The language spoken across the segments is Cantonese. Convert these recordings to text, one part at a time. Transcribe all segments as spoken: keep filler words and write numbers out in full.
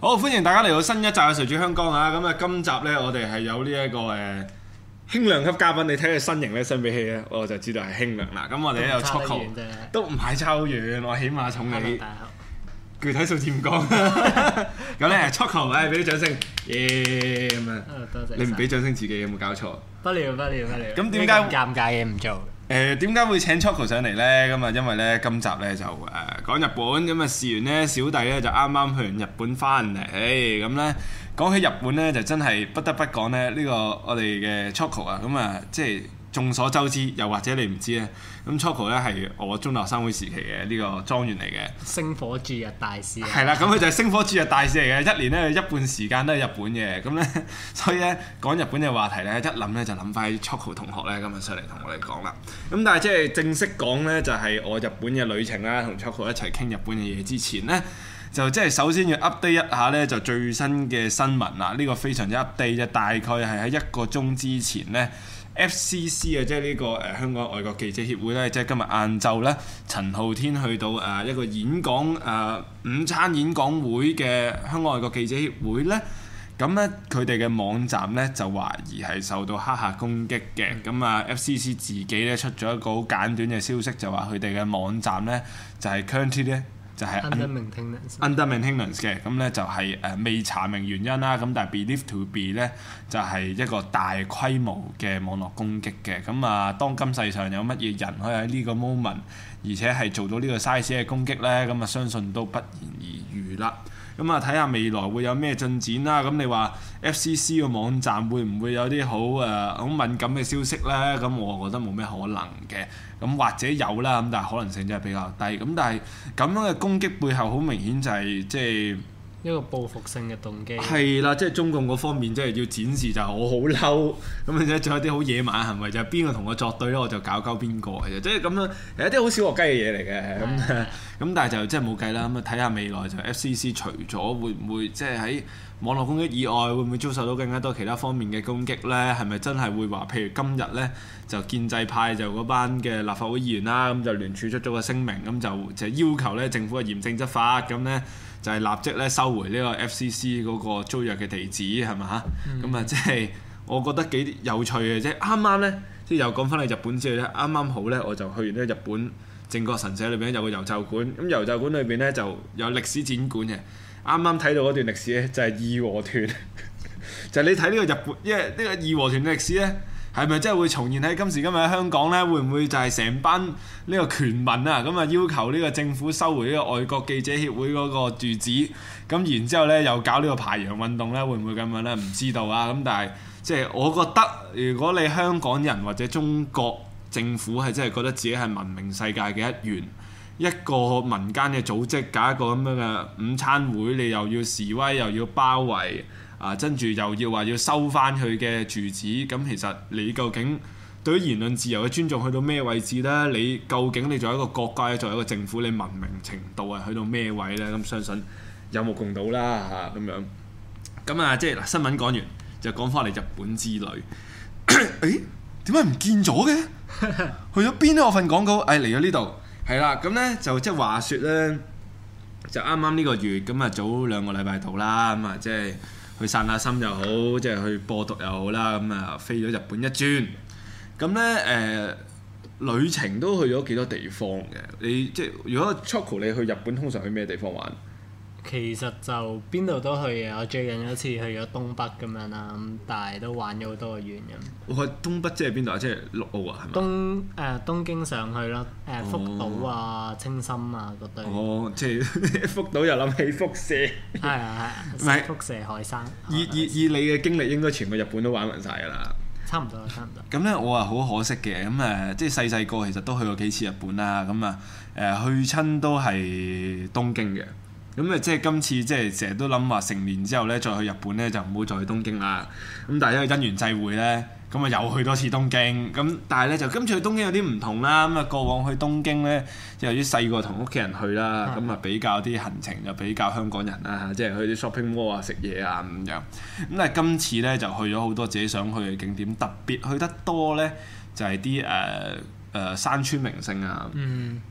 好，歡迎大家嚟到新一集嘅誰主香江啊！咁啊，今集呢，我哋係有呢、這、一個誒、呃、輕量級嘉賓，你睇佢身形咧，相比起咧，我就知道係輕量啦。咁我哋咧有 Choco，都唔係差好遠，我起碼重你。具體數字唔講。咁咧 Choco， 誒俾啲掌聲，耶咁啊！ 多謝。 你唔俾掌聲自己有冇搞錯？ 不了不了不了。 咁點解尷尬嘢唔做？ 誒點解會請 Choco 上嚟呢？咁啊，因為呢，今集呢就誒、呃、講日本，咁啊試完呢，小弟呢就啱啱去完日本翻嚟，咁呢，講起日本呢，就真係不得不講呢，呢、這個我哋嘅 Choco 啊，咁啊即係眾所周知，又或者你唔知咧，咁 Choco 呢係我中學生會時期嘅呢個莊園嚟嘅， 星火駐日大使。 係啦，咁佢就係星火駐日大使嚟嘅，一年呢，一半時間都係日本嘅，咁呢，所以呢，講日本嘅話題呢，一諗呢就諗翻 Choco 同學呢，今日上嚟同我哋講啦。咁但係即係正式講呢，就係我日本嘅旅程啦，同 Choco 一齊傾日本嘅嘢之前呢，就即係首先要 update 一下呢，就最新嘅新聞啦。呢、這個非常之 update 啫，大概係喺一個鐘之前呢 F C C 啊，即係呢個誒、呃、香港外國記者協會呢，即係今日晏晝呢，陳浩天去到誒、呃、一個演講誒、呃、午餐演講會嘅香港外國記者協會呢。咁咧，佢哋嘅網站咧就懷疑係受到黑客攻擊嘅。咁啊、嗯、，F C C 自己咧出咗一個好簡短嘅消息，就話佢哋嘅網站咧就係 currently 咧就係 under maintenance under maintenance 嘅。咁咧就係誒未查明原因啦。咁但係 believed to be 咧就係一個大規模嘅網絡攻擊嘅。咁啊，當今世上有乜嘢人可以喺呢個 moment，而且係做到呢個 size 嘅攻擊咧，咁啊相信都不言而喻啦。咁啊，睇下未來會有咩進展啦。咁你話 F C C 個網站會唔會有啲好誒好敏感嘅消息呢？咁我覺得冇咩可能嘅。咁或者有啦，咁但係可能性真係比較低。咁但係咁樣嘅攻擊背後好明顯就係即係一個報復性嘅動機。 係啦，即係中共嗰方面即係要展示就係我好嬲，咁而且仲有啲好野蠻嘅行為，就係邊個同我作對咧，我就搞鳩邊個嘅啫。即係咁樣係一啲好小學雞嘅嘢嚟嘅。咁咁但係就即係冇計啦。咁啊睇下未來就 F C C 除咗會唔會即係喺網絡攻擊以外，會唔會遭受到更加多其他方面嘅攻擊咧？係咪真係會話，譬如今日咧就建制派就嗰班嘅立法會議員啦，咁就聯署出咗個聲明，咁就就要求咧政府嘅嚴正執法，咁咧就係立即咧收回呢個 F C C 嗰個租約嘅地址，係咪嚇？咁啊、嗯、即係我覺得幾有趣嘅啫。啱啱咧即係又講翻去日本之後咧，啱啱好咧我就去完咧日本靖國神社裏邊有個遊就館，咁遊就館裏邊咧就有歷史展館嘅。啱啱睇到嗰段歷史咧，就係義和團，就係你睇呢個日本，因為呢個義和團嘅歷史咧，係咪真係會重現喺今時今日喺香港咧？會唔會就係成班呢個權民啊咁啊要求呢個政府收回呢個外國記者協會嗰個住址？咁然之後咧又搞呢個排洋運動咧，會唔會咁樣咧？唔知道啊！咁但係即係我覺得，如果你香港人或者中國政府係真係覺得自己係文明世界嘅一員。一個民間嘅組織搞一個咁樣嘅午餐會，你又要示威又要包圍啊，跟住又要話要收翻佢嘅住址，咁其實你究竟對於言論自由嘅尊重去到咩位置呢？你究竟你作為一個國家，作為一個政府，你文明程度係去到咩位呢？咁相信有目共睹啦嚇咁樣。咁啊，即係嗱新聞講完，就講翻嚟日本之旅。誒點解唔見咗嘅？去咗邊呢？我份廣告誒嚟咗呢度。係啦，咁咧就即係話説咧，就啱啱呢個月咁啊，早兩個禮拜到啦，咁啊即係去散下心又好，即係去播毒又好啦，咁啊飛咗日本一轉，咁咧誒旅程都去咗幾多地方嘅？你即係如果 Choco 你去日本，通常去咩地方玩？ 其實就邊度都去嘅，我最近有一次去咗東北咁樣啦，咁但係都玩咗好多個縣咁。 我去東北即係邊度啊？即係陸奧啊？係咪？ 東誒、呃、東京上去咯，誒、呃、福島啊、哦、青森啊嗰堆。 哦，即係福島又諗起輻射。 係啊係啊，輻射海山。 以以以你嘅經歷，應該全個日本都玩勻晒㗎啦。 差唔多差唔多。 咁咧，我啊好可惜嘅，咁誒，即係細細個其實都去過幾次日本啦，咁啊誒去親都係東京嘅。咁啊，即係今次即係成日都諗話成年之後咧，再去日本咧就唔好再去東京啦。咁但係因為因緣際會咧，咁啊又去多次東京。咁但係咧就今次去東京有啲唔同啦。咁啊過往去東京咧，即係由於細個同屋企人去啦，咁啊比較啲行程就比較香港人啦，即係去啲 shopping mall 啊、食嘢啊咁樣。咁但係今次咧就去咗好多自己想去嘅景點，特別去得多咧就係啲誒誒山川名勝啊。嗯咁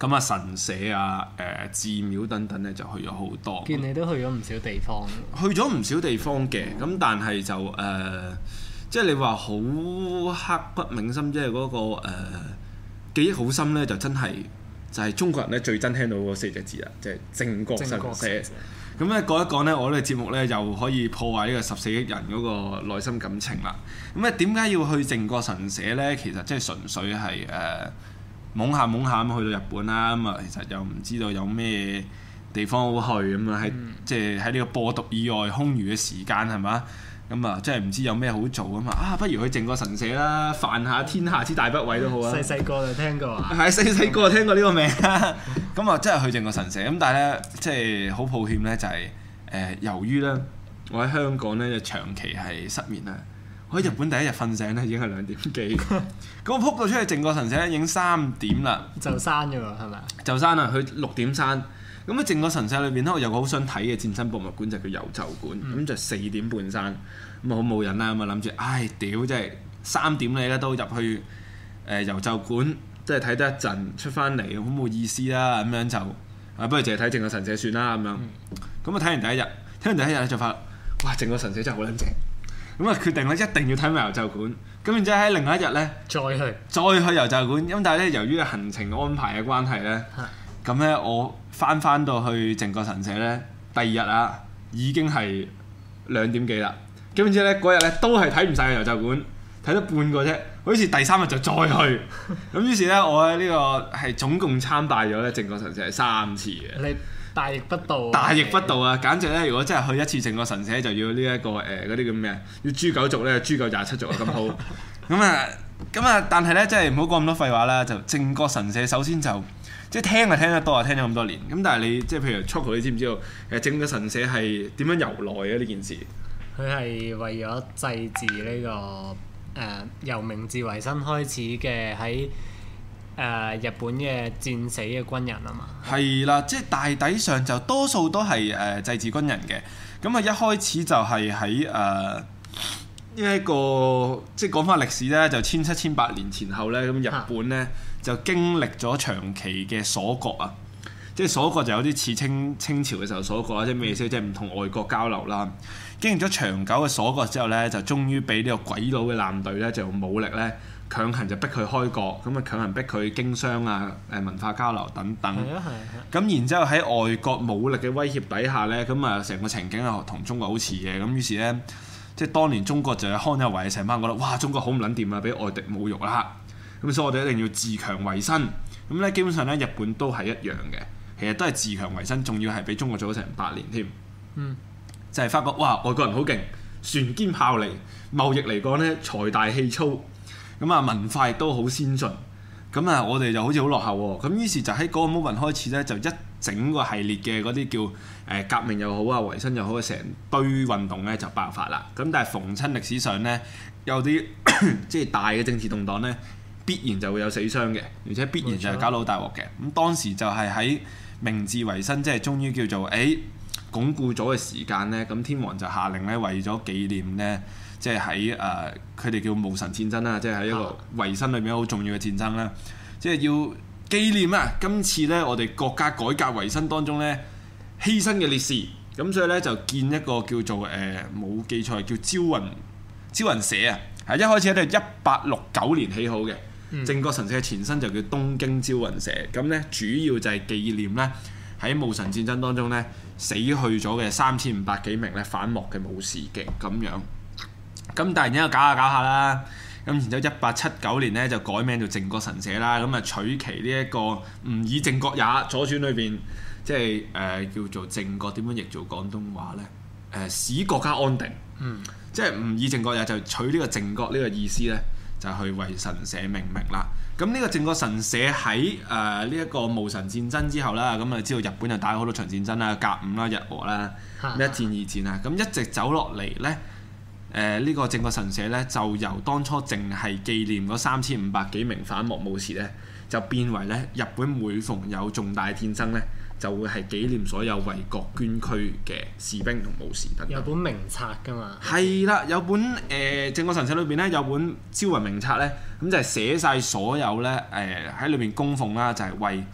咁啊神社啊、誒、呃、寺廟等等咧就去咗好多。 見你都去咗唔少地方。 去咗唔少地方嘅，咁但係就誒、呃，即係你話好刻骨銘心，即係嗰個誒、呃、記憶好深咧，就真係就係中國人咧最憎聽到嗰四隻字啦，即係靖國神社。咁咧講一講咧，我呢個節目咧又可以破壞呢個十四億人嗰個內心感情啦。咁咧點解要去靖國神社咧？其實即係純粹係誒懵下懵下咁去到日本啦。咁啊，其實又唔知道有咩地方好去咁啊，喺即係喺呢個播讀以外空餘嘅時間係嘛？咁啊，即係唔知有咩好做啊嘛！啊，不如去靖國神社啦，犯下天下之大不韙都好啊！ 細細個就聽過啊， 係細細個就聽過呢個名啦。咁啊，真係去靖國神社咁，但係咧，即係好抱歉咧，就係、是、誒、呃，由於咧，我喺香港咧就長期係失眠啦。我喺日本第一日瞓醒咧已經係兩點幾，咁我撲到出去靖國神社咧已經三點啦， 就閂咗喎，係咪啊？ 就閂啦，佢六點閂。咁喺靖國神社裏邊咧，我有個好想睇嘅戰爭博物館就叫遊就館，咁、嗯、就四點半閂，咁啊好冇癮啦，咁啊諗住，唉屌，真係三點你咧都入去誒、呃、遊就館，即係睇得一陣出翻嚟，好冇意思啦，咁樣就啊不如淨係睇靖國神社算啦，咁樣，咁啊睇完第一日，睇完第一日咧就發覺，哇靖國神社真係好撚正，咁啊決定咧一定要睇埋遊就館，咁然之後喺另外一日咧再去， 再去遊就館，咁但係咧由於行程安排嘅關係咧。咁咧，我翻翻到去靖國神社咧，第二日啊，已經係兩點幾啦。咁然之後咧，嗰日咧都係睇唔晒嘅遊就館，睇咗半個啫。好似第三日就再去。咁於是咧，我喺呢個係總共參拜咗咧靖國神社係三次嘅。 你大逆不道、啊！ 大逆不道啊！簡直咧，如果真係去一次靖國神社，就要呢、這、一個誒嗰啲叫咩啊？要誅九族咧，誅夠廿七族啊！咁好。咁啊，咁啊，但係咧，真係唔好講咁多廢話啦。就靖國神社首先就。即係聽係聽得多啊，聽咗咁多年。咁但係你即係譬如 Choco，你知唔知道誒靖國神社係點樣由來嘅呢件事？ 佢係為咗祭祀呢、這個誒、呃、由明治維新開始嘅喺誒日本嘅戰死嘅軍人啊嘛。係啦，即係大體上就多數都係誒、呃、祭祀軍人嘅。咁啊一開始就係喺誒呢一個即係講翻歷史咧，就千七千八年前後咧，咁日本咧。就經歷咗長期嘅鎖國啊，即係鎖國就有啲似清清朝嘅時候鎖國啦，即係咩意思？即係唔同外國交流啦。經歷咗長久嘅鎖國之後咧，就終於俾呢個鬼佬嘅艦隊咧，就用武力咧強行就逼佢開國，咁啊強行逼佢經商啊、誒文化交流等等。係啊係啊。咁然之後喺外國武力嘅威脅底下咧，咁啊成個情景啊同中國好似嘅，咁於是咧，即係當年中國就係康有為成班覺得哇中國好唔撚掂啊，俾外敵侮辱啦。咁所以我哋一定要自強為身，咁咧基本上咧日本都係一樣嘅，其實都係自強為身，仲要係比中國做咗成八年添。嗯，就係發覺哇外國人好勁，船堅炮利，貿易嚟講咧財大氣粗，咁啊文化亦都好先進，咁啊我哋就好似好落後喎。咁於是就喺嗰個 moment 開始咧，就一整個系列嘅嗰啲叫誒革命又好啊，維新又好，成堆運動咧就爆發啦。咁但係逢親歷史上咧有啲即係大嘅政治動盪咧。必然就會有死傷嘅，而且必然就係搞到好大鑊嘅。咁當時就係喺明治維新，即係終於叫做誒、欸、鞏固咗嘅時間咧，咁天皇就下令咧，為咗紀念咧，即係喺誒佢哋叫戊辰戰爭啦，即係喺一個維新裏面好重要嘅戰爭啦，即係要紀念啊今次咧我哋國家改革維新當中咧犧牲嘅烈士，咁所以咧就建一個叫做誒冇、呃、記錯叫招魂招魂社啊，係一開始咧都係一八六九年起好嘅。靖國神社嘅前身就叫東京招魂社，咁咧主要就係紀念咧喺戊辰戰爭當中咧死去咗嘅三千五百幾名咧反幕嘅武士嘅咁樣。咁但係然之後搞下搞下啦，咁然之後一八七九年咧就改名做靖國神社啦，咁啊取其呢一個吾以靖國也，左傳裏邊即係誒、呃、叫做靖國點樣譯做廣東話咧？誒、呃、使國家安定，嗯，即係吾以靖國也就取呢個靖國呢個意思咧。就去為神社命名啦。咁呢個靖國神社喺誒呢一個戊辰戰爭之後啦，咁啊知道日本就打咗好多場戰爭啦，甲午啦、日俄啦、一戰二戰啊，咁一直走落嚟咧，誒、呃、呢、這個靖國神社咧就由當初淨係紀念嗰三千五百幾名反幕武士咧，就變為咧日本每逢有重大戰爭咧，就會係紀念所有為國捐軀嘅士兵同武士等等。有本名冊㗎嘛？係啦，有本誒靖國神社裏邊咧有本招魂名冊咧，咁就係寫晒所有咧誒喺裏邊供奉啦，就係、是、為即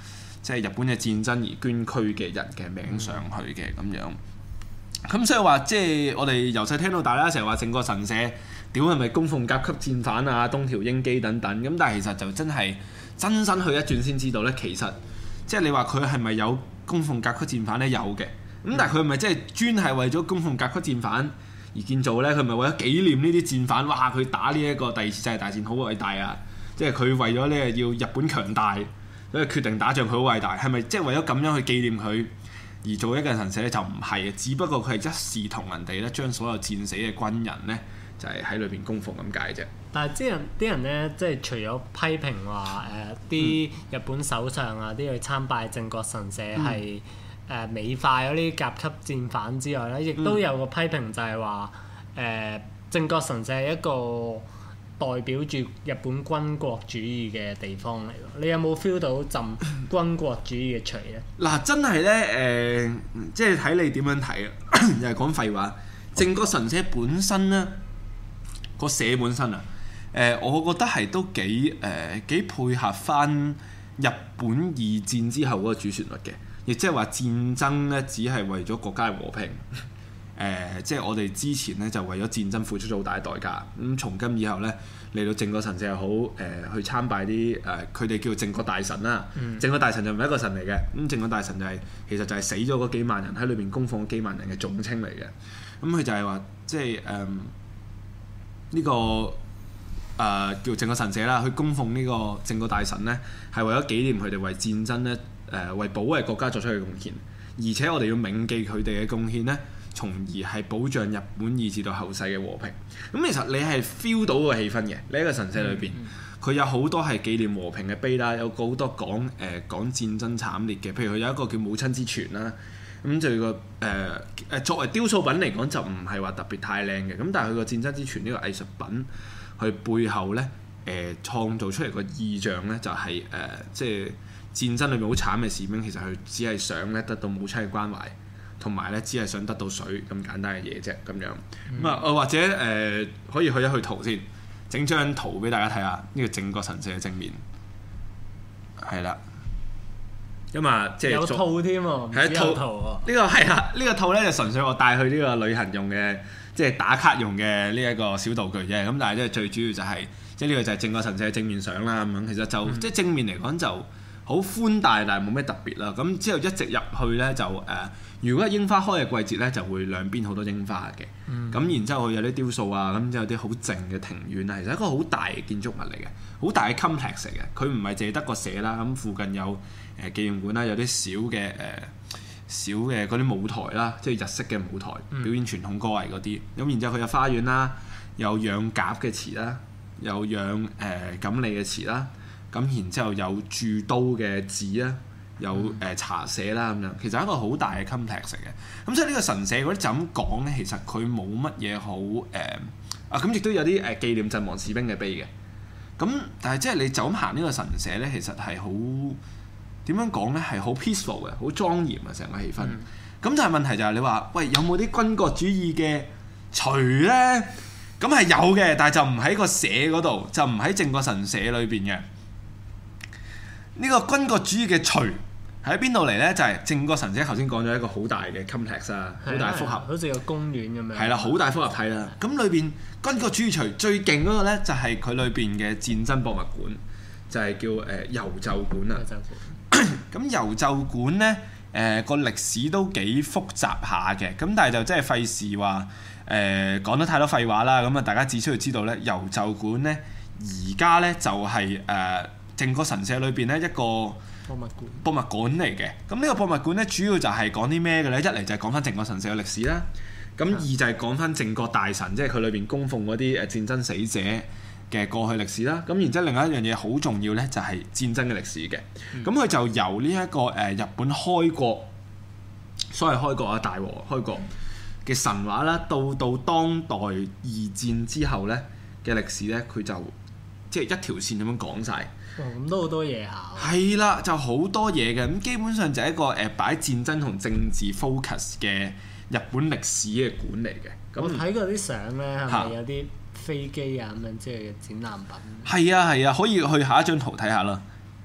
即係日本嘅戰爭而捐軀嘅人嘅名上去嘅咁樣。咁所以話即係我哋由細聽到大啦，成日話靖國神社屌係咪供奉甲級戰犯啊、東條英機等等，咁但係其實就真係真身去一轉先知道咧，其實即係你話佢係咪有供奉甲級戰犯咧？有嘅，咁但係佢係咪即係專係為咗供奉甲級戰犯而建造咧？佢係咪為咗紀念呢啲戰犯？哇！佢打呢一個第二次世界大戰好偉大啊！即係佢為咗咧要日本強大，所以決定打仗，佢好偉大。係咪即係為咗咁樣去紀念佢而做一個神社咧？就唔係，只不過佢係一視同仁地咧，將所有戰死嘅軍人咧，就係喺裏邊供奉咁解啫。 但係啲人啲人咧，即係除咗批評話誒啲日本首相啊，啲去參拜靖國神社係誒美化咗呢啲甲級戰犯之外咧，亦都有個批評就係話誒靖國神社係一個代表住日本軍國主義嘅地方嚟喎，你有冇 feel 到陣軍國主義嘅除咧？嗱， 真係咧誒，即係睇你點樣睇啊！又係講廢話。靖國神社本身咧，個社本身啊，誒、呃，我覺得係都幾誒幾配合翻日本二戰之後嗰個主旋律嘅，亦即係話戰爭咧只係為咗國家嘅和平。誒、呃，即係我哋之前咧就為咗戰爭付出咗好大嘅代價。咁、嗯、從今以後咧嚟到靖國神社又好，誒、呃、去參拜啲誒佢哋叫靖國大神啦。靖國、嗯、大神就唔係一個神嚟嘅，咁靖國大神就係、是、其實就係死咗嗰幾萬人喺裏邊供奉幾萬人嘅總稱嚟嘅。咁、嗯、佢就係話即係誒呢個誒、呃、叫靖國神社啦，去供奉呢個靖國大神咧，係為咗紀念佢哋為戰爭咧誒、呃、為保衛國家作出嘅貢獻，而且我哋要銘記佢哋嘅貢獻咧，從而係保障日本以至到後世嘅和平。咁其實你係 feel 到個氣氛嘅，你喺個神社裏邊，佢、嗯嗯、有好多係紀念和平嘅碑啦，有好多講誒、呃、講戰爭慘烈嘅，譬如佢有一個叫母親之泉啦。咁就個誒誒作為雕塑品嚟講就唔係話特別太靚嘅，咁但係佢個戰爭之泉呢個藝術品，佢背後咧誒、呃、創造出嚟個意象咧就係、是、誒、呃、即係戰爭裏面好慘嘅士兵，其實佢只係想咧得到母親嘅關懷。同埋咧，只係想得到水咁簡單嘅嘢啫，咁樣咁啊、嗯，或者誒、呃、可以去一去圖先，整張圖俾大家睇下呢、這個靖國神社嘅正面，係啦，咁啊即係有套添喎，係一套圖喎。呢、 這個係啊，呢、這個套咧就純粹我帶去呢個旅行用嘅，即係打卡用嘅呢一個小道具啫。咁但係即係最主要就係、是，即係呢個就係靖國神社嘅正面相啦。咁樣其實就、嗯、即係正面嚟講就好寬大，但係冇咩特別啦。咁之後一直入去咧就誒。呃如果係櫻花開嘅季節咧，就會兩邊好多櫻花嘅。咁、嗯、然之後佢有啲雕塑啊，咁之後有啲好靜嘅庭院啊，其實係一個好大嘅建築物嚟嘅，好大嘅 complex 嚟嘅。佢唔係淨係得個社啦，咁附近有誒、呃、紀念館啦，有啲小嘅誒、呃、小嘅嗰啲舞台啦，即係日式嘅舞台、嗯、表演傳統歌藝嗰啲。咁然之後佢有花園啦，有養鴿嘅池啦，有養誒錦鯉嘅池啦。咁然之後有鑄刀嘅寺啦。有誒、呃、茶社啦咁樣，其實係一個好大嘅 complex 嚟嘅。咁所以呢個神社嗰啲就咁講咧，其實佢冇乜嘢好誒啊！咁亦都有啲誒紀念陣亡士兵嘅碑嘅。咁但係即係你就咁行呢個神社咧，其實係好點樣講咧？係好 peaceful 嘅，好莊嚴啊！成個氣氛。咁、嗯、但係問題就係你話，喂，有冇啲軍國主義嘅除咧？咁係有嘅，但係就唔喺個社嗰度，就唔喺靖國神社裏邊嘅。呢、這個軍國主義嘅除。喺邊度嚟咧？就係、是、靖國神社，頭先講咗一個好大嘅 complex 啊，好大複合， 好似個公園咁樣。係啦，好大複合體啦。咁裏邊軍國主義除最勁嗰個咧，就係佢裏邊嘅戰爭博物館，就係、是、叫誒遊奏館啊。咁遊奏館咧，誒個歷史都幾複雜下嘅。咁但係就真係費事話誒講得太多廢話啦。咁啊，大家只需要知道咧，遊奏館咧而家咧就係誒靖國神社裏邊咧一個博物館，博物館嚟嘅。咁呢個博物館咧，主要就係講啲咩嘅咧？一嚟就係講翻靖國神社嘅歷史啦。咁二就係講翻靖國大神，即係佢裏邊供奉嗰啲誒戰爭死者嘅過去歷史啦。咁然之後另外一樣嘢好重要咧，就係戰爭嘅歷史嘅。咁佢、嗯、就由呢一個誒日本開國，所謂開國啊，大和開國嘅神話啦，到到當代二戰之後咧嘅歷史咧，佢就即係一條線咁樣講晒。 哦，咁都好多嘢考。係啦，就好多嘢嘅。咁基本上就係一個誒擺戰爭同政治 focus 嘅日本歷史嘅館嚟嘅。 我睇過啲相咧，係咪有啲飛機啊咁樣之類嘅展覽品？ 係啊係啊，可以去下一張圖睇下啦。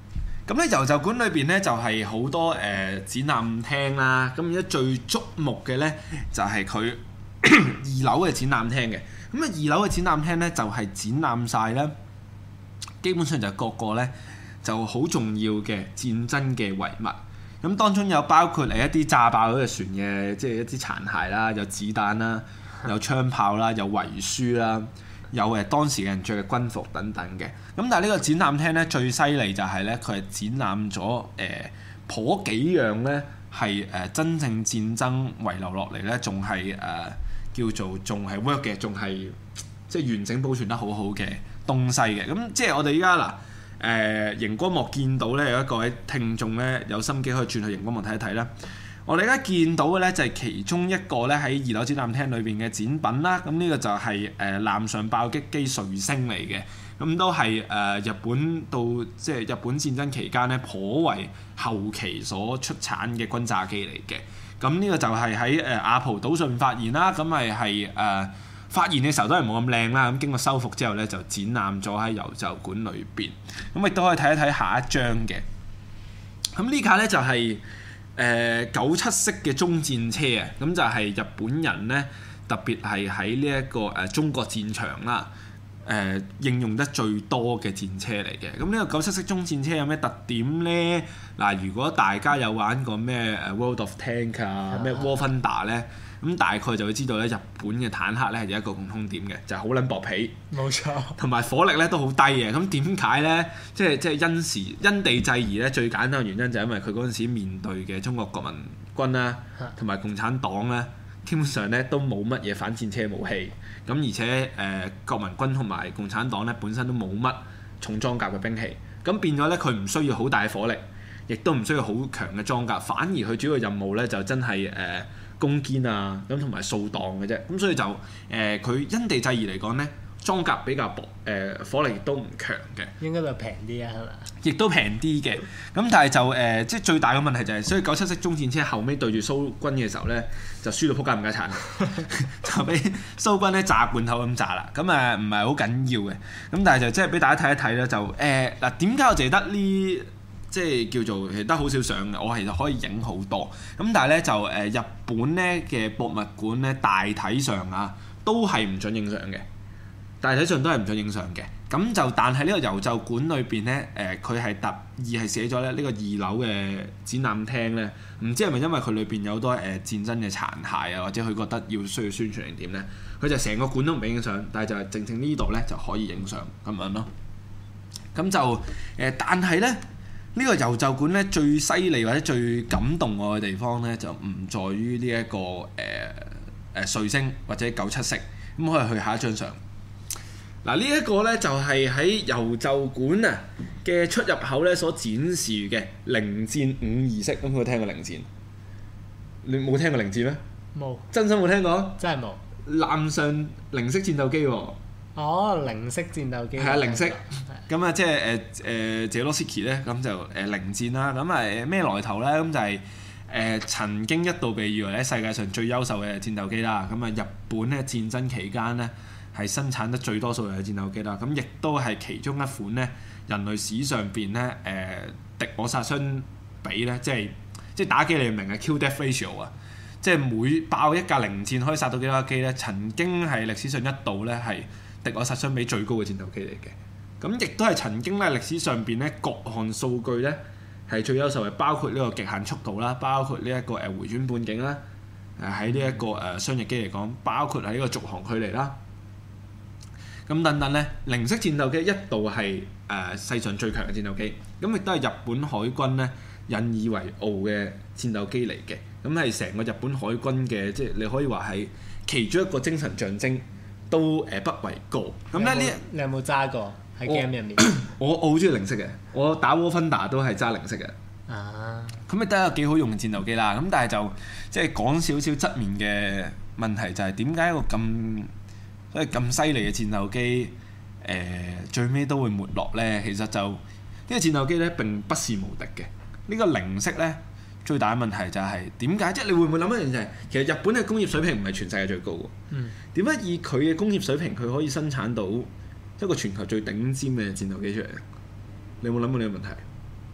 咁咧遊就館裏邊咧就係好多誒、呃、展覽廳啦，咁而家最矚目嘅咧就係佢二樓嘅展覽廳嘅。咁啊二樓嘅展覽廳咧就係展覽晒咧，基本上就係各個咧就好重要嘅戰爭嘅遺物。咁當中有包括誒一啲炸爆嗰隻船嘅，即係一啲殘骸啦，有子彈啦，有槍炮啦，有遺書啦。有誒當時嘅人着嘅軍服等等嘅，咁但係呢個展覽廳咧最犀利就係咧佢係展覽咗誒頗幾樣咧係誒真正戰爭遺留落嚟咧，仲係誒叫做仲係 work 嘅，仲係即係完整保存得好好嘅東西嘅。咁即係我哋依家嗱誒熒光幕見到咧有一個位聽眾咧有心機可以轉去熒光幕睇一睇啦。我哋而家見到嘅咧就係其中一個咧喺二樓展覽廳裏邊嘅展品啦。咁呢個就係誒艦上爆擊機彗星嚟嘅。咁都係誒、呃、日本到即係日本戰爭期間咧頗為後期所出產嘅轟炸機嚟嘅。咁呢個就係喺誒阿蒲島上發現啦。咁咪係誒發現嘅時候都係冇咁靚啦。咁經過修復之後咧就展覽咗喺遊就館裏邊。咁亦都可以睇一睇下一張嘅。咁呢架咧就係、是。誒九七式嘅中戰車啊，咁就係日本人咧，特別係喺呢一個誒中國戰場啦，誒、呃、應用得最多嘅戰車嚟嘅。咁呢個九七式中戰車有咩特點咧？嗱，如果大家有玩過咩誒 World of Tank 啊，咩 War Thunder 咧，咁大概就會知道咧，日本嘅坦克咧係有一個共通點嘅，就係好撚薄皮， 冇錯， 同埋火力咧都好低嘅。咁點解咧？即係即係因時因地制宜咧，最簡單嘅原因就係因為佢嗰陣時面對嘅中國國民軍啦，同埋共產黨咧，基本上咧都冇乜嘢反戰車武器。咁而且誒、呃、國民軍同埋共產黨咧本身都冇乜重裝甲嘅兵器，咁變咗咧佢唔需要好大嘅火力，亦都唔需要好強嘅裝甲，反而佢主要任務咧就真係誒、呃、攻堅啊，咁同埋掃蕩嘅啫。咁所以就誒佢、呃、因地制宜嚟講咧，裝甲比較薄，誒、呃、火力亦都唔強嘅。 應該就平啲啊，係咪？亦都平啲嘅。咁但係就誒、呃，即係最大嘅問題就係、是，所以九七式中戰車後尾對住蘇軍嘅時候咧，就輸到撲街唔家產，就俾蘇軍咧炸罐頭咁炸啦。咁誒唔係好緊要嘅。咁但係就即係俾大家睇一睇咧，就誒嗱點解我淨係得呢？即係叫做其實得好少相嘅，我其實可以影好多。咁但係咧就誒、呃、日本咧嘅博物館咧大體上啊都係唔準影相嘅。大體上都係唔準影相嘅，咁就但係呢個遊就館裏邊咧，誒佢係特意係寫咗咧呢個二樓嘅展覽廳咧，唔知係咪因為佢裏邊有好多誒、呃、戰爭嘅殘骸啊，或者佢覺得要需要宣傳定點咧，佢就成個館都唔俾影相，但係就係正正呢度咧就可以影相咁樣咯。咁就誒、呃，但係咧呢、呢個遊就館咧最犀利或者最感動我嘅地方咧，就唔在於呢一個誒誒彗星或者九七式，咁可以去下一張相。嗱，呢一個咧就係喺遊就館啊嘅出入口咧所展示嘅零戰五二式。咁有冇聽過零戰？你冇聽過零戰咩？冇有。真心冇聽過？真係冇。艦上零式戰鬥機喎。哦，零式戰鬥機。係啊，零式。咁啊，即係誒誒謝羅斯基咧，咁就誒零戰啦。咁啊咩來頭咧？咁就係、是、誒、呃、曾經一度被譽為咧世界上最優秀嘅戰鬥機啦。咁啊，日本咧戰爭期間咧，係生產得最多數量嘅戰鬥機啦，咁亦都係其中一款咧人類史上邊咧誒敵我殺傷比咧，即係即係打機你明嘅 kill death ratio 啊，即係每爆一架零戰可以殺到幾多架機咧？曾經係歷史上一度咧係敵我殺傷比最高嘅戰鬥機嚟嘅，咁亦都係曾經咧歷史上邊咧各項數據咧係最優秀嘅，包括呢個極限速度啦，包括呢一個誒回轉半徑啦，誒喺呢一個誒雙翼機嚟講，包括喺呢個續航距離啦。咁等等咧，零式戰鬥機一度係誒、呃、世上最強嘅戰鬥機，咁亦都係日本海軍咧引以為傲嘅戰鬥機嚟嘅，咁係成個日本海軍嘅，即係你可以話係其中一個精神象徵，都誒、呃、不為過。咁咧呢，你有冇揸過喺 game 入面？我我好中意零式嘅，我打 War Thunder 都係揸零式嘅。啊，咁亦都係一個幾好用嘅戰鬥機啦。咁但係就即係講少少側面嘅問題，就係點解一個咁所以咁犀利嘅戰鬥機，誒、呃、最尾都會沒落咧。其實就呢、這個戰鬥機咧並不是無敵嘅。呢、這個零式咧最大嘅問題就係點解？即係你會唔會諗一樣就係，其實日本嘅工業水平唔係全世界最高嘅。嗯。點解以佢嘅工業水平，佢可以生產到一個全球最頂尖嘅戰鬥機出嚟？你有冇諗過呢個問題？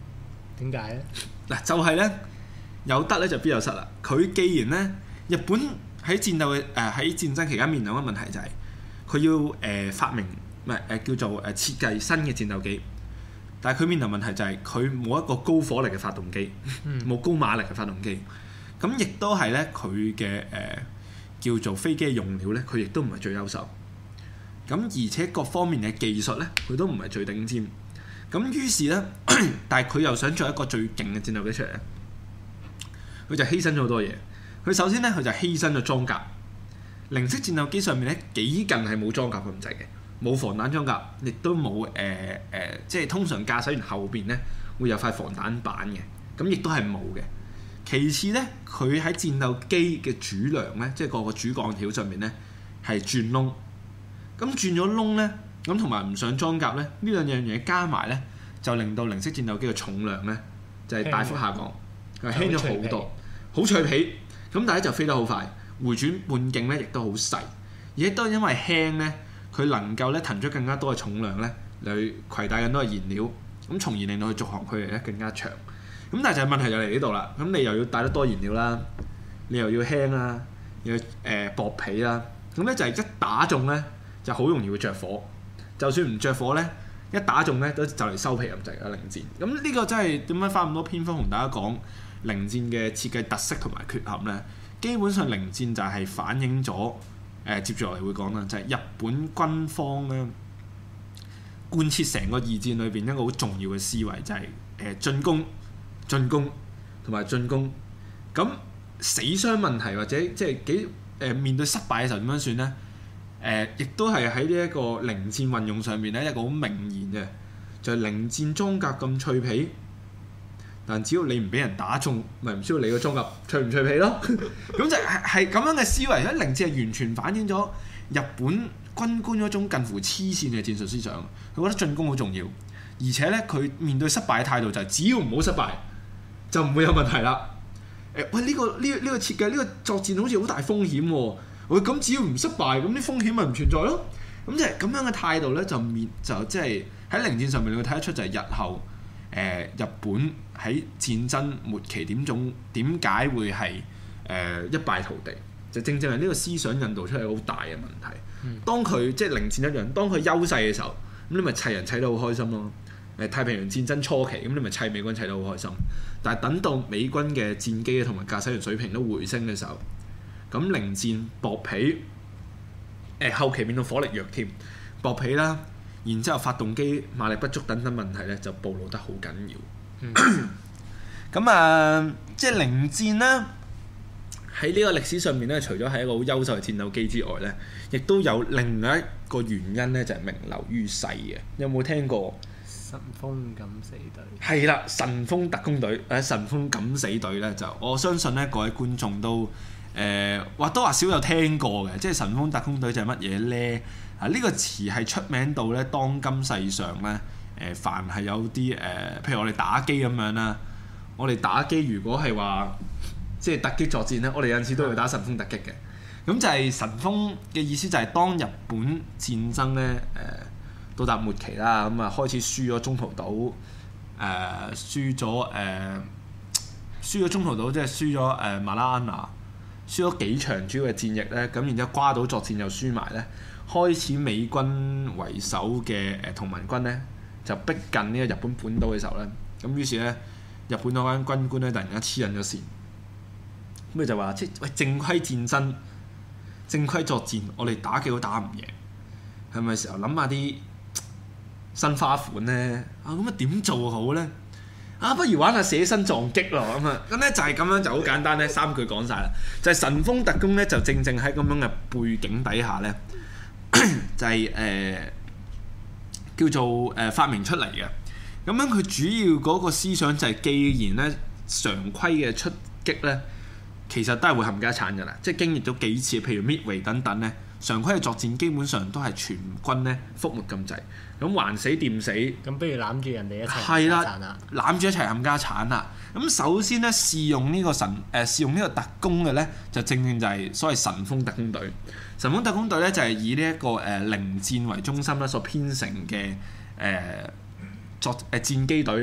點解咧？ 嗱，就係咧有得咧就必有失啦。佢既然咧日本喺戰鬥嘅誒喺戰爭期間面臨嘅問題就係、是、佢要誒、呃、發明唔係誒叫做誒設計新嘅戰鬥機，但係佢面臨問題就係佢冇一個高火力嘅發動機，冇、嗯、高馬力嘅發動機，咁亦都係咧佢嘅誒叫做飛機嘅用料咧，佢亦都唔係最優秀。咁而且各方面嘅技術咧，佢都唔係最頂尖。咁於是咧，但係佢又想做一個最勁嘅戰鬥機出嚟咧，佢就犧牲咗好多嘢。佢首先咧，佢就犧牲咗裝甲。零式戰鬥機上面咧，幾近係冇裝甲咁滯嘅，冇防彈裝甲，亦都冇誒誒，即係通常駕駛員後邊咧會有塊防彈板嘅，咁亦都係冇嘅。其次咧，佢喺戰鬥機嘅主梁咧，即係個個主鋼條上面咧係轉窿。咁轉咗窿咧，咁同埋唔上裝甲咧，呢兩樣嘢加埋咧，就令到零式戰鬥機嘅重量咧就係、是、大幅下降，係輕咗好多，好脆皮。咁但係就飛得好快，回轉半徑咧亦都好細，而且都因為輕咧，佢能夠咧騰出更加多嘅重量咧，嚟攜帶更多嘅燃料，咁從而令到佢續航距離咧更加長。咁但係就係問題就嚟呢度啦，咁你又要帶得多燃料啦，你又要輕啦，又要誒、呃、薄皮啦，咁咧就係一打中咧。就好容易會着火，就算唔着火咧，一打中咧都就嚟收皮咁滯啦。零戰咁呢個真係點解花咁多篇幅同大家講零戰嘅設計特色同埋缺陷咧？基本上零戰就係反映咗誒、呃，接住落嚟會講啦，就係、是、日本軍方咧貫徹成個二戰裏邊一個好重要嘅思維，就係誒進攻、進攻同埋進攻。咁死傷問題或者即係幾誒面對失敗嘅時候點樣算咧？誒，亦、呃、都係喺呢一個零戰運用上面咧，一個好明言嘅，就係、是、零戰裝甲咁脆皮，但只要你唔俾人打中，咪唔需要你個裝甲脆唔脆皮咯。咁就係係咁樣嘅思維，喺零戰係完全反映咗日本軍官嗰種近乎黐線嘅戰術思想。佢覺得進攻好重要，而且咧佢面對失敗嘅態度就係只要唔好失敗，就唔會有問題啦。誒、呃，喂，呢、這個呢呢、這個設計呢、這個作戰好似好大風險喎、啊。喂，咁只要唔失敗，咁啲風險咪唔存在咯？咁即係咁樣嘅態度咧，就面就即係喺零戰上面，你會睇得出就係日後誒、呃、日本喺戰爭末期點種點解會係誒、呃、一敗塗地，就正正係呢個思想引導出嚟好大嘅問題。嗯、當佢即係零戰一樣，當佢優勢嘅時候，咁你咪砌人砌得好開心咯。誒太平洋戰爭初期，咁你咪砌美軍砌得好開心。但係等到美軍嘅戰機同埋駕駛員水平都回升嘅時候，咁零戰薄皮，誒、呃、後期變到火力弱添，薄皮啦，然之後發動機馬力不足等等問題咧，就暴露得好緊要。咁、嗯、啊，即係零戰啦，喺呢個歷史上面咧，除咗係一個好優秀嘅戰鬥機之外咧，亦都有另外一個原因咧，就係、是、名留於世嘅。有冇聽過？ 神風敢死隊係啦，神風特工隊，誒神風敢死隊咧，就我相信咧，各位觀眾都。誒或多或少有聽過嘅，即係神風特工隊就係乜嘢咧？啊呢、這個詞係出名到咧，當今世上咧，誒、呃、凡係有啲誒、呃，譬如我哋打機咁樣啦，我哋打機如果係話即係突擊作戰咧，我哋有陣時都會打神風突擊嘅。咁就係神風嘅意思就係當日本戰爭咧，誒、呃、到達末期啦，咁啊開始輸咗中途島，誒、呃、輸咗誒、呃、輸咗中途島，即係輸咗誒馬拉安娜。輸咗幾場主要嘅戰役咧，咁然之後瓜島作戰又輸埋咧，開始美軍為首嘅誒同盟軍咧就逼近呢個日本本島嘅時候咧，咁於是咧日本嗰間軍官咧突然間黐緊咗線，咁佢就話即係喂正規戰爭、正規作戰，我哋打幾都打唔贏，係咪時候諗下啲新花款咧？啊咁啊點做好咧？啊，不如玩下捨身撞擊咯咁啊！咁咧就係咁樣就好簡單咧，三句講晒啦。就係、是、神風特工咧，就正正喺咁樣嘅背景底下咧，就係、是、誒、呃、叫做誒、呃、發明出嚟嘅。咁樣佢主要嗰個思想就係，既然咧常規嘅出擊咧，其實都係會冚家鏟㗎啦。即係經歷咗幾次，譬如 Midway 等等咧，常規嘅作戰基本上都係全軍咧覆沒咁滯。咁還死掂死，咁不如攬住人哋一齊係啦，攬住一齊冚家鏟啦。咁首先咧試用呢個神誒、呃、試用呢個特工嘅咧，就正正就係所謂神風特工隊。神風特工隊咧就係、是、以呢、這、一個誒、呃、零戰為中心咧所編成嘅誒、呃、作誒、呃、戰機隊啦。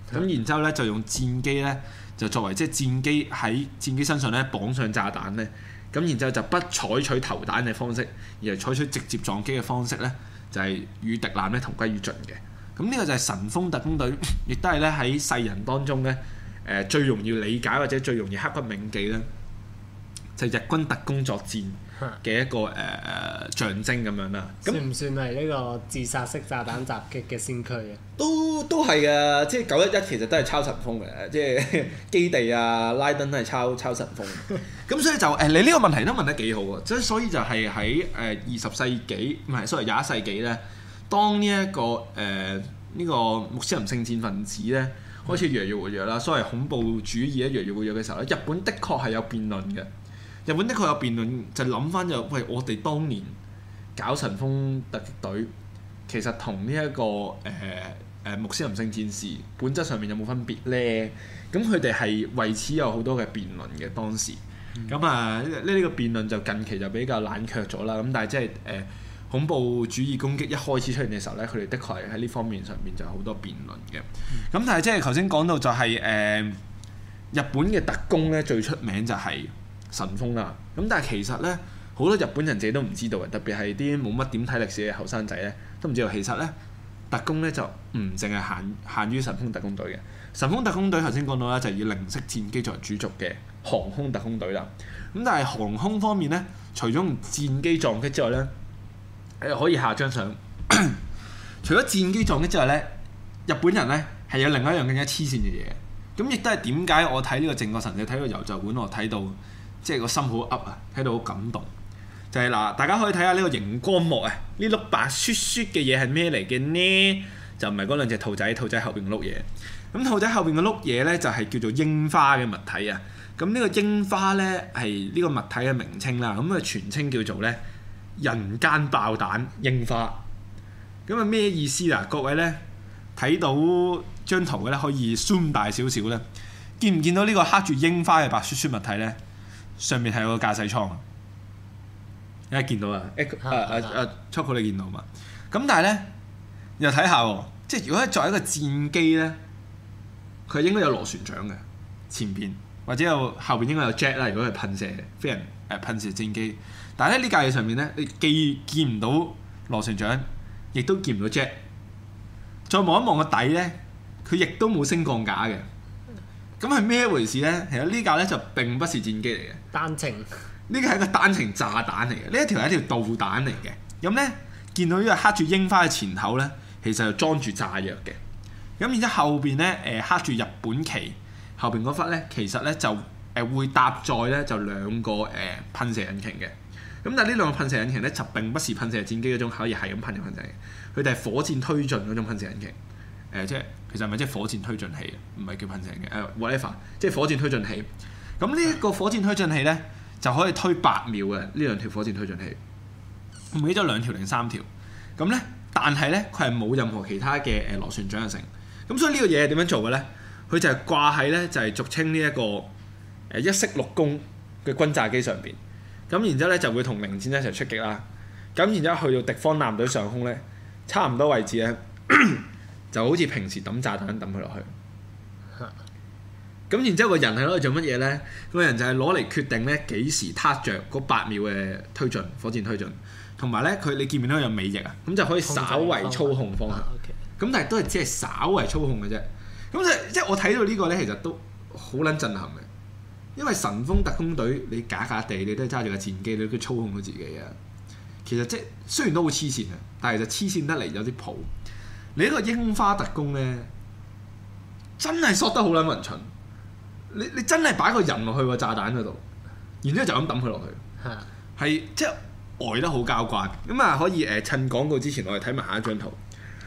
咁然之後咧就用戰機咧就作為即係戰機喺戰機身上咧綁上炸彈咧，咁然之後就不採取投彈嘅方式，而係採取直接撞擊嘅方式咧，就係、是、與敵艦咧同歸於盡嘅。咁呢個就係神風特工隊，亦都係咧喺世人當中咧誒、呃、最容易理解或者最容易刻骨銘記咧，就係、是、日軍特工作戰嘅一個誒、呃、象徵咁樣啦。咁算唔算係呢個自殺式炸彈襲擊嘅先驅啊？ 都都係嘅，即係九一一其實都係抄神風嘅，即係基地啊、拉登都係抄抄神風。咁所以就誒、呃，你呢個問題都問得幾好喎！即係所以就係喺誒二十世紀唔係，sorry廿一世紀咧，當呢、這、一個誒呢、呃這個穆斯林聖戰分子咧開始越嚟越活躍啦，所謂恐怖主義咧越嚟越活躍嘅時候咧，日本的確係有辯論嘅。日本的確有辯論，就諗翻就喂，我哋當年搞神風突擊隊，其實同呢一個誒誒、呃、穆斯林聖戰士本質上面有冇分別咧？咁佢哋係為此有好多嘅辯論嘅當時。咁、嗯、啊呢呢、這個辯論就近期就比較冷卻咗啦。咁但係即係誒恐怖主義攻擊一開始出現嘅時候咧，佢哋的確係喺呢方面上面就有好多辯論嘅。咁、嗯、但係即係頭先講到就係、是、誒、呃、日本嘅特工咧最出名就係神風啦，咁但係其實咧好多日本人自己都唔知道嘅，特別係啲冇乜點睇歷史嘅後生仔咧，都唔知道其實咧特工咧就唔淨係限限於神風特工隊嘅。神風特工隊頭先講到啦，就係以零式戰機作為主軸嘅航空特工隊啦。咁但係航空方面咧，除咗用戰機撞擊之外咧，誒可以下張相。除咗戰機撞擊之外咧，日本人咧係有另外一樣更加黐線嘅嘢。咁亦都係點解我睇呢個靖國神社睇個遊就館，我睇到。即係個心好噏啊，睇到好感動。就係、是、嗱，大家可以睇下呢個熒光幕啊，呢碌白雪雪嘅嘢係咩嚟嘅呢？就唔係嗰兩隻兔仔，兔仔後邊嘅碌嘢。咁兔仔後邊嘅碌嘢咧，就係、是、叫做櫻花嘅物體啊。咁呢個櫻花咧係呢個物體嘅名稱啦。咁啊全稱叫做咧人間爆彈櫻花。咁啊咩意思啊？各位咧睇到張圖嘅咧，可以 zoom 大少少咧，見唔見到呢個刻住櫻花嘅白雪雪物體咧？上面係有個駕駛艙啊！一見到啊，誒誒誒誒 Choco 你見到嘛？咁但係咧，又睇下喎，即係如果作為一個戰機咧，佢應該有螺旋槳嘅前邊，或者有後邊應該有 jet 啦。如果係噴射飛人誒、呃、噴射戰機，但係咧呢架嘢上面咧，你既見唔到螺旋槳，亦都見唔到 jet。再望一望個底咧，佢亦都冇升降架嘅。咁係咩回事咧？其實呢架咧就並不是戰機嚟嘅， 單程。 呢個係一個單程炸彈嚟嘅，呢一條係一條導彈嚟嘅。咁咧見到呢個刻住櫻花嘅前頭咧，其實就裝住炸藥嘅。咁然之後後邊咧誒刻住日本旗後邊嗰忽咧，其實咧就誒會搭載咧就兩個誒噴射引擎嘅。咁但係呢兩個噴射引擎咧就並不是噴射戰機嗰種可以係咁噴嘅噴射嘅，佢哋係火箭推進嗰種噴射引擎。誒、呃、即係其實係咪即係火箭推進器？唔係叫噴射嘅誒 whatever，即係火箭推進器。咁呢一個火箭推進器咧就可以推八秒嘅呢兩條火箭推進器。唔記得咗兩條定三條。咁咧，但係咧佢係冇任何其他嘅誒螺旋槳嘅成。咁所以呢個嘢係點樣做嘅咧？佢就係掛喺咧就係俗稱呢一個誒一式六弓嘅轟炸機上邊。咁然之後咧就會同零戰一齊出擊啦。咁然之後去到敵方艦隊上空咧，差唔多位置咧。就好似平時抌炸彈抌佢落去，咁然之後個人係攞嚟做乜嘢咧？個人就係攞嚟決定咧幾時撻着嗰八秒嘅推進火箭推進，同埋咧佢你見唔見到有尾翼啊？咁就可以稍為操控方向。咁但係都係只係稍為操控嘅啫。咁即即係我睇到呢個咧，其實都好撚震撼嘅，因為神風特工隊你假假地你都係揸住架戰機，你都操控到自己啊。其實即係雖然都好黐線啊，但係就黐線得嚟有啲譜。你呢個櫻花特工咧，真係索得好撚勻循。你你真係擺個人落去個炸彈嗰度，然之後就咁抌佢落去，係即係呆得好交關。咁啊可以誒、呃、趁廣告之前，我哋睇埋下一張圖。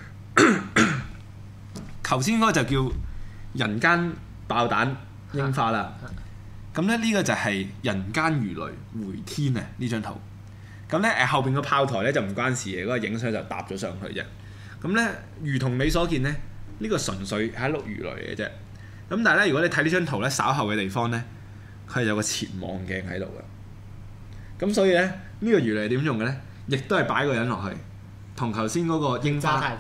頭先嗰個就叫人間爆彈櫻花啦。咁咧呢個就係人間魚雷回天啊！呢張圖。咁咧誒後邊個炮台咧就唔關事嘅，嗰、那個影相就搭咗上去啫。咁咧，如同你所見咧，呢、這個純粹係一碌魚雷嘅啫。咁但係咧，如果你睇呢張圖咧，稍後嘅地方咧，佢係有個潛望鏡喺度嘅。咁所以咧，呢、這個魚雷點用嘅咧，亦都係擺個人落去，同頭先嗰個櫻花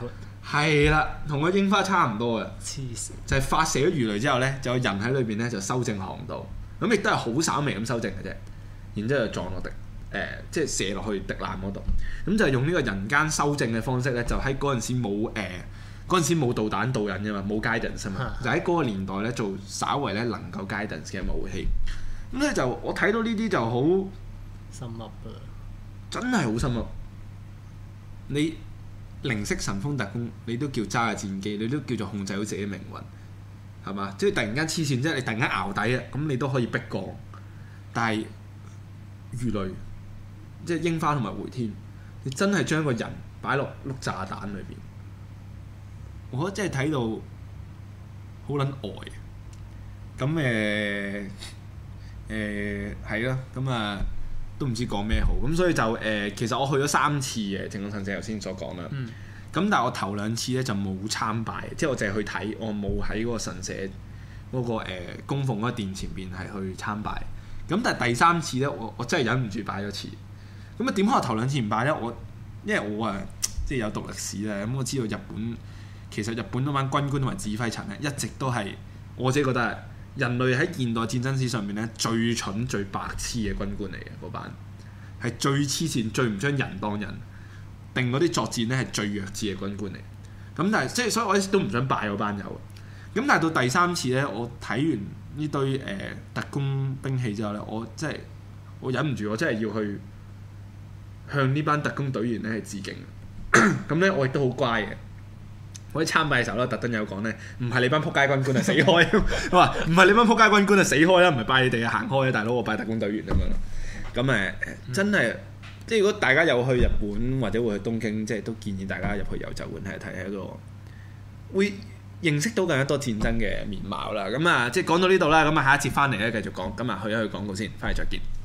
係啦，同個櫻花差唔多嘅， 黐線。 就係發射咗魚雷之後咧，就有人喺裏邊咧就修正航道，咁亦都係好稍微咁修正嘅啫。然之後就撞落敵誒、呃，即係射落去敵艦嗰度。咁就係用呢個人間修正嘅方式咧，就喺嗰陣時冇誒嗰陣時冇導彈導引嘅嘛，冇 guidance 啊嘛，就喺嗰個年代咧做稍為咧能夠 guidance 嘅武器。咁咧就我睇到呢啲就好深噏啊！ 真係好深噏。你零式神風特工，你都叫揸下戰機，你都叫做控制到自己命運，係嘛？即係突然間黐線，即係你突然間淆底啊，咁你都可以逼降。但係魚雷，即係櫻花同埋回天，你真係將個人擺落碌炸彈裏邊，我覺得真係睇到好撚呆。咁誒誒係咯，咁、呃、啊〜都唔知講咩好，咁所以就誒、呃，其實我去咗三次嘅正統神社，頭先所講啦。咁、嗯、但係我頭兩次咧就冇參拜，即係我淨係去睇，我冇喺嗰個神社嗰、那個誒、呃、供奉嗰個殿前邊係去參拜。咁但係第三次咧，我我真係忍唔住拜咗次。咁啊點解我頭兩次唔拜咧？我因為我啊即係有讀歷史咧，咁我知道日本其實日本嗰班軍官同埋指揮層咧，一直都係我自己覺得係人類喺現代戰爭史上面咧最蠢最白痴嘅軍官嚟嘅，嗰班係最黐線最唔將人當人，定嗰啲作戰咧係最弱智嘅軍官嚟。咁但係即係所以我一直都唔想拜嗰班友。咁但係到第三次咧，我睇完呢堆誒、呃、特工兵器之後咧，我真係我忍唔住，我真係要去向呢班特工隊員咧係致敬。咁咧我亦都好乖嘅。我喺參拜嘅時候咧，特登有講咧，唔係你班撲街軍官啊死開，我話唔係你班撲街軍官啊死開啦，唔係拜你哋啊行開啊，大佬我拜特工隊員咁樣。咁誒、嗯、真係，即係如果大家有去日本或者會去東京，即係都建議大家入去遊就館睇一睇，一個會認識到更加多戰爭嘅面貌啦。咁啊，即係講到呢度啦，咁啊下一節翻嚟咧繼續講，咁啊去一去廣告先，翻嚟再見。